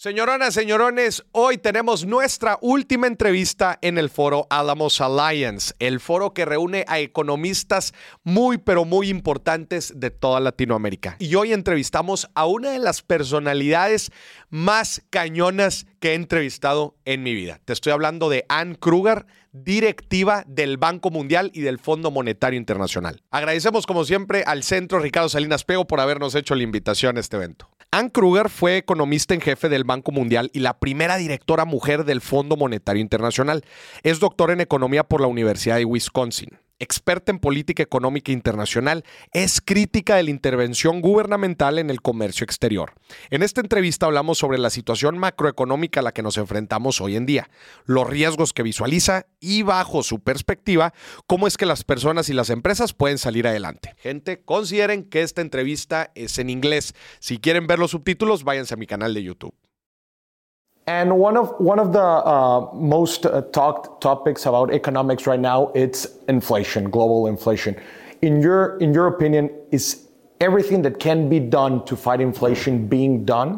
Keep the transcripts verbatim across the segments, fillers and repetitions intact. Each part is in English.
Señoronas, señorones, hoy tenemos nuestra última entrevista en el foro Alamos Alliance, el foro que reúne a economistas muy, pero muy importantes de toda Latinoamérica. Y hoy entrevistamos a una de las personalidades más cañonas que he entrevistado en mi vida. Te estoy hablando de Anne Krueger, directiva del Banco Mundial y del Fondo Monetario Internacional. Agradecemos como siempre al Centro Ricardo Salinas Pliego por habernos hecho la invitación a este evento. Anne Krueger fue economista en jefe del Banco Mundial y la primera directora mujer del Fondo Monetario Internacional. Es doctora en economía por la Universidad de Wisconsin. Experta en política económica internacional, es crítica de la intervención gubernamental en el comercio exterior. En esta entrevista hablamos sobre la situación macroeconómica a la que nos enfrentamos hoy en día, los riesgos que visualiza y, bajo su perspectiva, cómo es que las personas y las empresas pueden salir adelante. Gente, consideren que esta entrevista es en inglés. Si quieren ver los subtítulos, váyanse a mi canal de YouTube. And one of one of the uh, most uh, talked topics about economics right now, it's inflation, global inflation. In your in your opinion, is everything that can be done to fight inflation being done?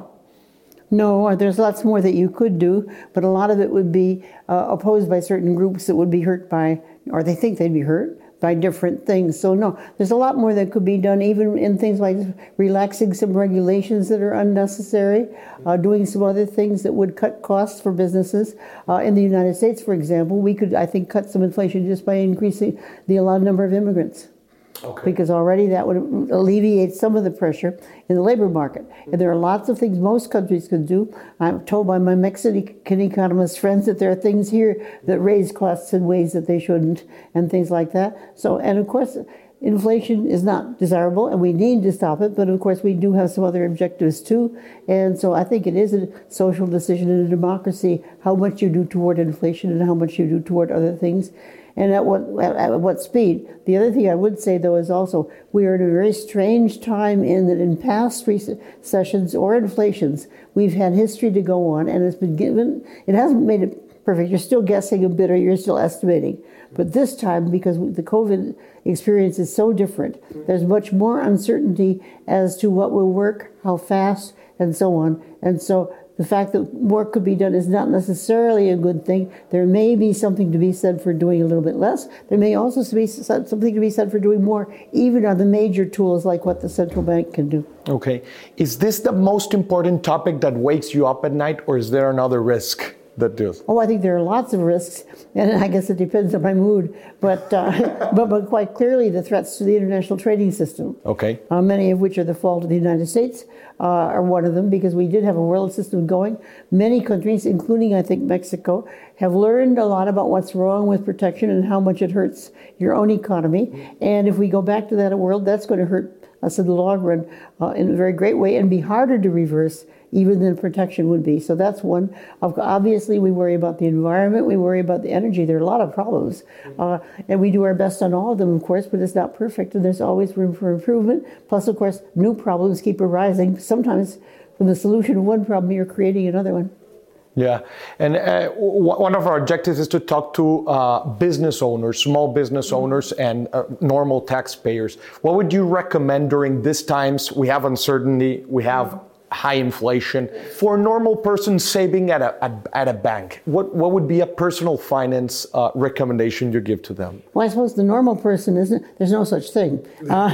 No, there's lots more that you could do, but a lot of it would be uh, opposed by certain groups that would be hurt by, or they think they'd be hurt by different things. So no, there's a lot more that could be done, even in things like relaxing some regulations that are unnecessary, uh, doing some other things that would cut costs for businesses. Uh, in the United States, for example, we could, I think, cut some inflation just by increasing the allowed number of immigrants. Okay. Because already that would alleviate some of the pressure in the labor market. And there are lots of things most countries can do. I'm told by my Mexican economist friends that there are things here that raise costs in ways that they shouldn't, and things like that. So, and of course, inflation is not desirable, and we need to stop it. But of course, we do have some other objectives too. And so I think it is a social decision in a democracy how much you do toward inflation and how much you do toward other things. And at what at what speed. The other thing I would say, though, is also we are in a very strange time in that in past recessions or inflations, we've had history to go on, and it's been given, it hasn't made it perfect. You're still guessing a bit, or you're still estimating. But this time, because the COVID experience is so different, there's much more uncertainty as to what will work, how fast, and so on. And so the fact that work could be done is not necessarily a good thing. There may be something to be said for doing a little bit less. There may also be something to be said for doing more, even on the major tools like what the central bank can do. Okay. Is this the most important topic that wakes you up at night, or is there another risk that does? Oh, I think there are lots of risks, and I guess it depends on my mood. But uh, but, but quite clearly, the threats to the international trading system. Okay. Uh, many of which are the fault of the United States. Uh, are one of them, because we did have a world system going. Many countries, including, I think, Mexico, have learned a lot about what's wrong with protection and how much it hurts your own economy. And if we go back to that world, that's going to hurt us in the long run uh, in a very great way and be harder to reverse even than protection would be. So that's one. Obviously, we worry about the environment. We worry about the energy. There are a lot of problems. Uh, and we do our best on all of them, of course, but it's not perfect. And there's always room for improvement. Plus, of course, new problems keep arising. Sometimes from the solution of one problem, you're creating another one. Yeah, and uh, w- one of our objectives is to talk to uh, business owners, small business owners, and uh, normal taxpayers. What would you recommend during these times? We have uncertainty, we have high inflation. For a normal person saving at a at, at a bank, what, what would be a personal finance uh, recommendation you give to them? Well, I suppose the normal person isn't. There's no such thing. Uh,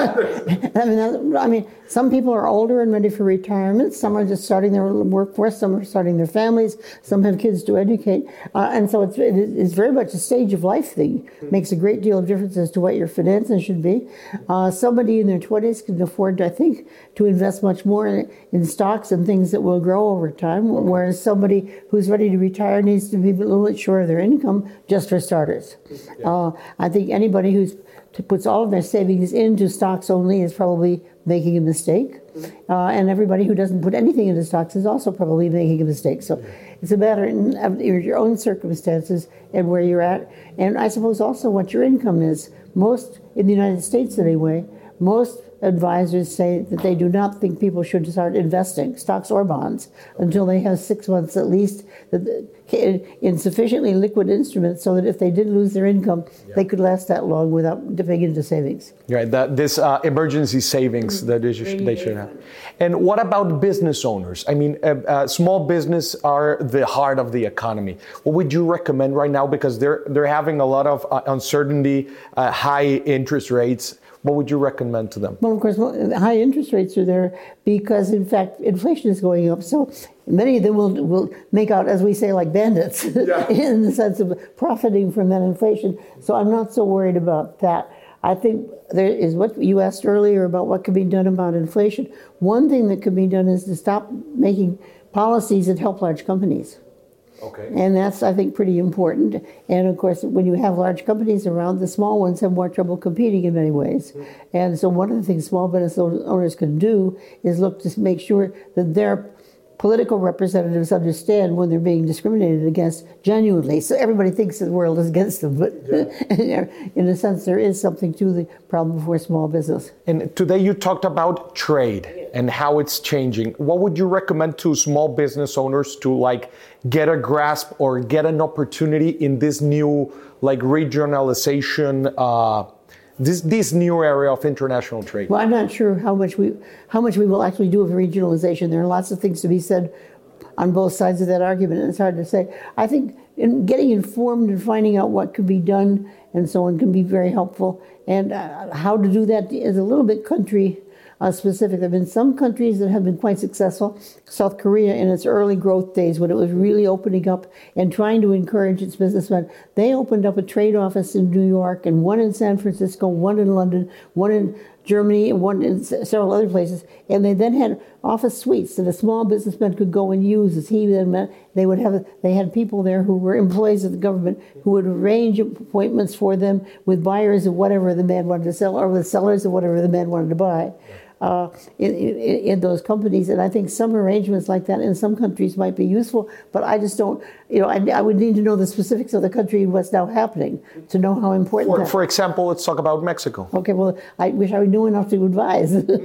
I mean, I mean, some people are older and ready for retirement. Some are just starting their workforce. Some are starting their families. Some have kids to educate, uh, and so it's it's very much a stage of life thing. It makes a great deal of difference as to what your finances should be. Uh, somebody in their twenties can afford, I think, to invest much more in, in stocks and things that will grow over time, whereas somebody who's ready to retire needs to be a little bit sure of their income, just for starters. Yeah. Uh, I think anybody who puts all of their savings into stocks only is probably making a mistake. Uh, and everybody who doesn't put anything into stocks is also probably making a mistake. So it's a matter of your own circumstances and where you're at. And I suppose also what your income is. Most, in the United States anyway, most advisors say that they do not think people should start investing, stocks or bonds, until they have six months at least in sufficiently liquid instruments so that if they did lose their income, yeah. they could last that long without dipping into savings. Right, that this uh, emergency savings that they should, they should have. And what about business owners? I mean, uh, uh, small business are the heart of the economy. What would you recommend right now? Because they're they're having a lot of uh, uncertainty, uh, high interest rates. What would you recommend to them? Well, of course, well, high interest rates are there because, in fact, inflation is going up. So many of them will will make out, as we say, like bandits, yeah. in the sense of profiting from that inflation. So I'm not so worried about that. I think there is what you asked earlier about what could be done about inflation. One thing that could be done is to stop making policies that help large companies. Okay. And that's, I think, pretty important. And of course, when you have large companies around, the small ones have more trouble competing in many ways. Mm-hmm. And so one of the things small business owners can do is look to make sure that their political representatives understand when they're being discriminated against genuinely. So everybody thinks the world is against them, but yeah. in a sense, there is something to the problem for small business. And today you talked about trade and how it's changing. What would you recommend to small business owners to like get a grasp or get an opportunity in this new like regionalization uh, This this new area of international trade? Well, I'm not sure how much we how much we will actually do with regionalization. There are lots of things to be said on both sides of that argument, and it's hard to say. I think in getting informed and finding out what could be done and so on can be very helpful. And uh, how to do that is a little bit country Uh, specific. There have been some countries that have been quite successful. South Korea, in its early growth days, when it was really opening up and trying to encourage its businessmen, they opened up a trade office in New York, and one in San Francisco, one in London, one in Germany, and one in several other places. And they then had office suites that a small businessman could go and use. As he then met, they would have. They had people there who were employees of the government who would arrange appointments for them with buyers of whatever the man wanted to sell, or with sellers of whatever the man wanted to buy. Uh, in, in, in those companies, and I think some arrangements like that in some countries might be useful, but I just don't, you know, I, I would need to know the specifics of the country and what's now happening to know how important For, that. for example, let's talk about Mexico. Okay, well, I wish I knew enough to advise.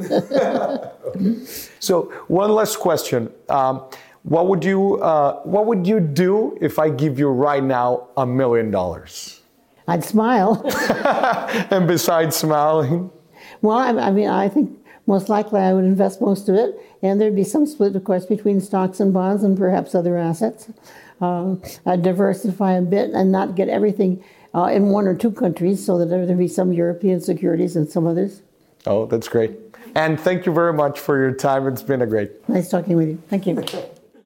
So, one last question. Um, what would you uh, what would you do if I give you right now a million dollars? I'd smile. And besides smiling? Well, I, I mean, I think most likely I would invest most of it, and there'd be some split, of course, between stocks and bonds and perhaps other assets. Um, I'd diversify a bit and not get everything uh, in one or two countries, so that there'd be some European securities and some others. Oh, that's great. And thank you very much for your time. It's been a great. Nice talking with you. Thank you.